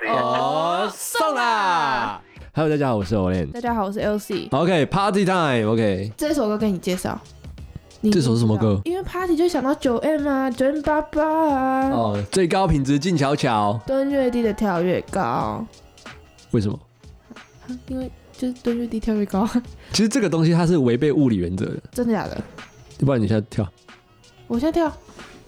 哦，送啦 ！Hello， 大家好，我是 Olen。 大家好，我是 LC。 OK，Party time。OK， 这首歌给你介绍。 这首是什么歌？ 因为 Party 就想到9M 啊，9M88啊。 哦，最高品质静悄悄， 蹲越低的跳越高。 为什么？ 因为就是蹲越低跳越高。 其实这个东西它是违背物理原则的。 真的假的？ 要不然你现在跳。 我现在跳。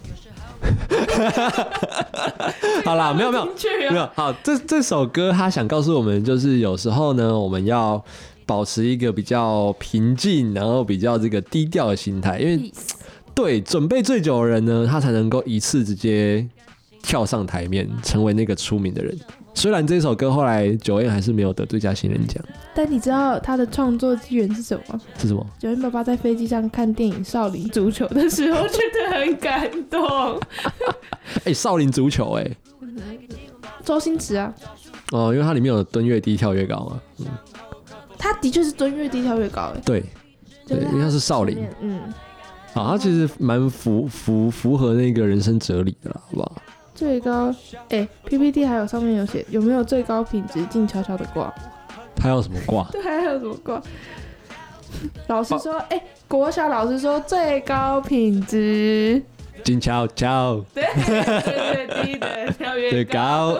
好啦，没有，好，这首歌他想告诉我们，就是有时候呢，我们要保持一个比较平静，然后比较这个低调的心态，因为对准备最久的人呢，他才能够一次直接跳上台面，成为那个出名的人。虽然这首歌后来9M还是没有得最佳新人奖，但你知道他的创作机缘是什么吗？ 是什么 ？9M88在飞机上看电影《少林足球》的时候，觉得很感动。 少林足球周星驰啊。 哦，因为它里面有蹲越低跳越高嘛。 他的确是蹲越低跳越高对，因为他是少林。他其实蛮符合那个人生哲理的啦，好不好？ 最高PPT 还有上面有写有没有最高品质静悄悄的挂？ 他有什么挂？ 对，还有什么挂？老师说，国小老师说最高品质静悄悄， 对，越低的跳越高。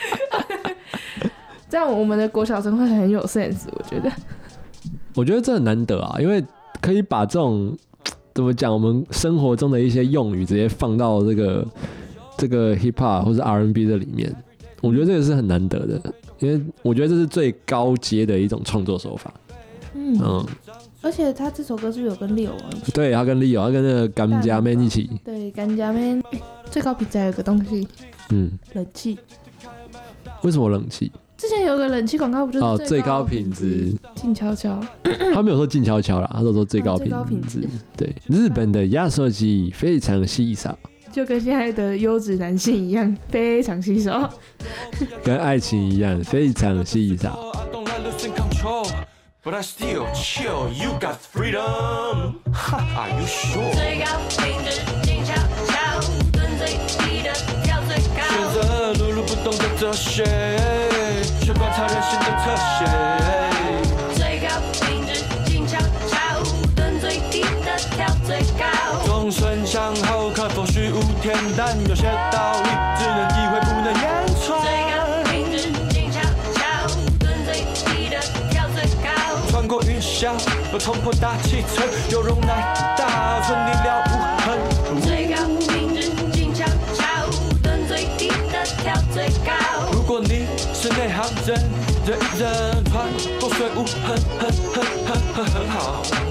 这样我们的国小生会很有 sense， 我觉得这很难得啊，因为可以把这种怎么讲，我们生活中的一些用语直接放到这个 hip hop 或者 R&B 的里面，我觉得这个是很难得的，因为我觉得这是最高阶的一种创作手法。 而且他这首歌是不是有跟 Leo 一起？ 对，他跟 Leo， 他跟那个甘家 man 一起。 对，甘家 man 最高品质还有个东西，冷气。 为什么冷气？ 之前有个冷气广告不就是最高品质静悄悄？ 他没有说静悄悄啦，他说最高品质。对，日本的压缩机非常稀少， 就跟现在的优质男性一样，非常稀少， 跟爱情一样非常稀少。 But I still chill, you got freedom. Are you sure? 最高品质静悄悄，蹲最低的跳最高。选择碌碌不动的哲学，却观察人性的特写。最高品质静悄悄，蹲最低的跳最高。众生相后，可否虚无恬淡？有些道理只能体会，不能言传。最高品质静悄悄，蹲最低的跳最高。穿过云霄，又冲破大气层，有容乃大，顺利了无痕。最高品质静悄悄，蹲最低的跳最高。如果你是内行人，人人穿过水雾，很好。